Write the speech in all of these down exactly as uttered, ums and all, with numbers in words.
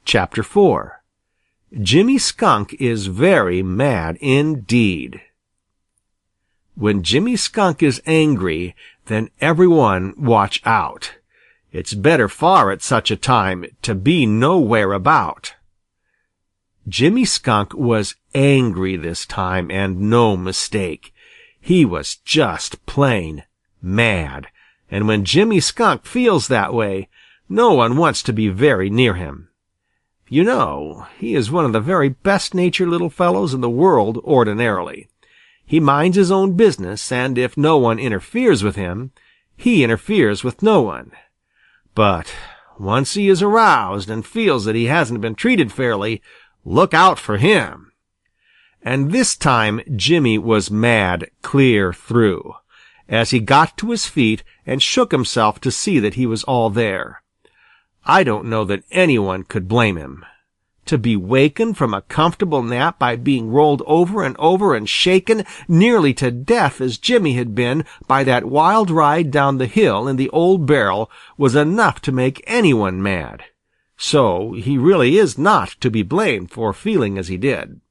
Chapter four. Jimmy Skunk is very mad indeed. When Jimmy Skunk is angry, then everyone watch out. It's better far at such a time to be nowhere about. Jimmy Skunk was angry this time, and no mistake. He was just plain mad, and when Jimmy Skunk feels that way, no one wants to be very near him. You know, he is one of the very best-natured little fellows in the world ordinarily. He minds his own business, and if no one interferes with him, he interferes with no one. But once he is aroused and feels that he hasn't been treated fairly, look out for him. And this time Jimmy was mad clear through, as he got to his feet and shook himself to see that he was all there. I don't know that anyone could blame him. To be wakened from a comfortable nap by being rolled over and over and shaken nearly to death as Jimmy had been by that wild ride down the hill in the old barrel was enough to make anyone mad. So he really is not to be blamed for feeling as he did.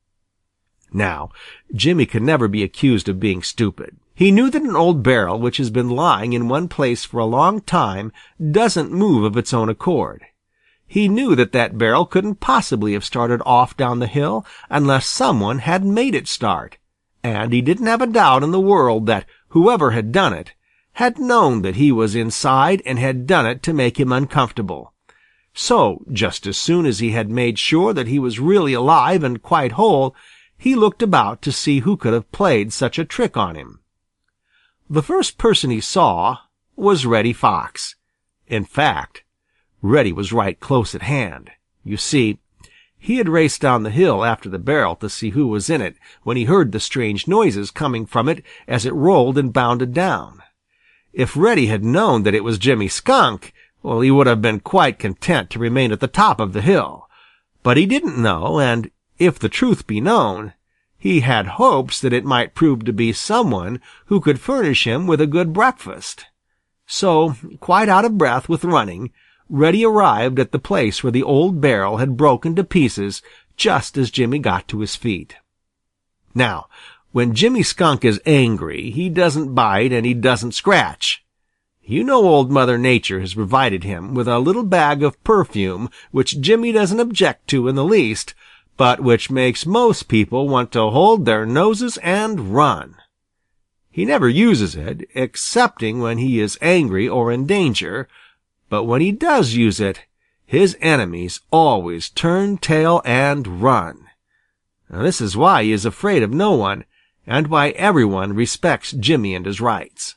Now, Jimmy could never be accused of being stupid. He knew that an old barrel which has been lying in one place for a long time doesn't move of its own accord. He knew that that barrel couldn't possibly have started off down the hill unless someone had made it start, and he didn't have a doubt in the world that whoever had done it had known that he was inside and had done it to make him uncomfortable. So, just as soon as he had made sure that he was really alive and quite whole, he looked about to see who could have played such a trick on him. The first person he saw was Reddy Fox. In fact, Reddy was right close at hand. You see, he had raced down the hill after the barrel to see who was in it when he heard the strange noises coming from it as it rolled and bounded down. If Reddy had known that it was Jimmy Skunk, well, he would have been quite content to remain at the top of the hill. But he didn't know, and if the truth be known, he had hopes that it might prove to be someone who could furnish him with a good breakfast. So, quite out of breath with running, Reddy arrived at the place where the old barrel had broken to pieces just as Jimmy got to his feet. Now, when Jimmy Skunk is angry, he doesn't bite and he doesn't scratch. You know Old Mother Nature has provided him with a little bag of perfume which Jimmy doesn't object to in the least, but which makes most people want to hold their noses and run. He never uses it, excepting when he is angry or in danger, but when he does use it, his enemies always turn tail and run. Now, this is why he is afraid of no one, and why everyone respects Jimmy and his rights.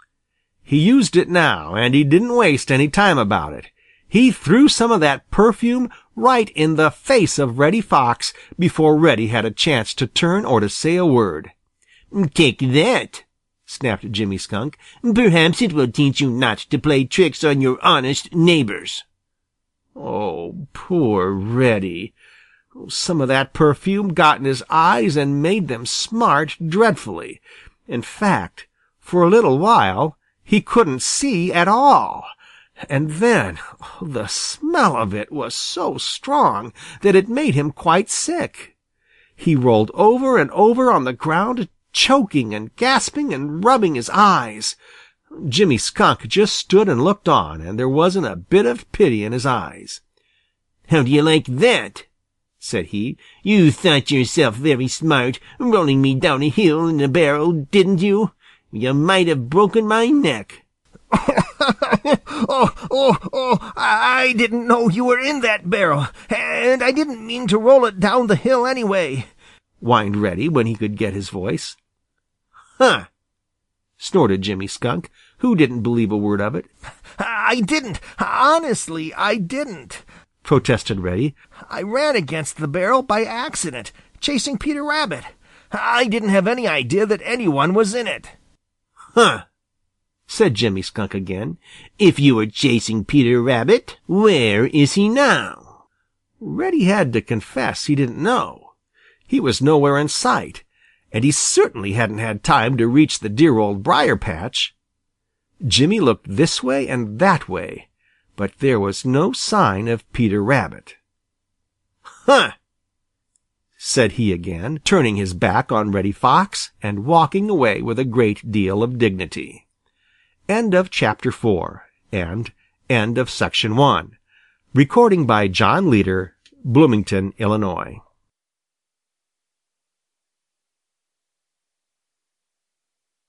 He used it now, and he didn't waste any time about it. He threw some of that perfume right in the face of Reddy Fox before Reddy had a chance to turn or to say a word. "Take that," snapped Jimmy Skunk. "Perhaps it will teach you not to play tricks on your honest neighbors." Oh, poor Reddy. Some of that perfume got in his eyes and made them smart dreadfully. In fact, for a little while he couldn't see at all. And then the smell of it was so strong that it made him quite sick. He rolled over and over on the ground, choking and gasping and rubbing his eyes. Jimmy Skunk just stood and looked on, and there wasn't a bit of pity in his eyes. "How do you like that?" said he. "You thought yourself very smart, rolling me down a hill in a barrel, didn't you? You might have broken my neck." oh, oh, oh, I didn't know you were in that barrel, and I didn't mean to roll it down the hill anyway," whined Reddy when he could get his voice. "Huh!" snorted Jimmy Skunk, who didn't believe a word of it. "I didn't. Honestly, I didn't," protested Reddy. "I ran against the barrel by accident, chasing Peter Rabbit. I didn't have any idea that anyone was in it." "Huh!" said Jimmy Skunk again. "If you were chasing Peter Rabbit, where is he now?" Reddy had to confess he didn't know. He was nowhere in sight, and he certainly hadn't had time to reach the dear Old Briar-patch. Jimmy looked this way and that way, but there was no sign of Peter Rabbit. "Huh!" said he again, turning his back on Reddy Fox and walking away with a great deal of dignity. End of chapter four and end of section one. Recording by John Leader, Bloomington, Illinois.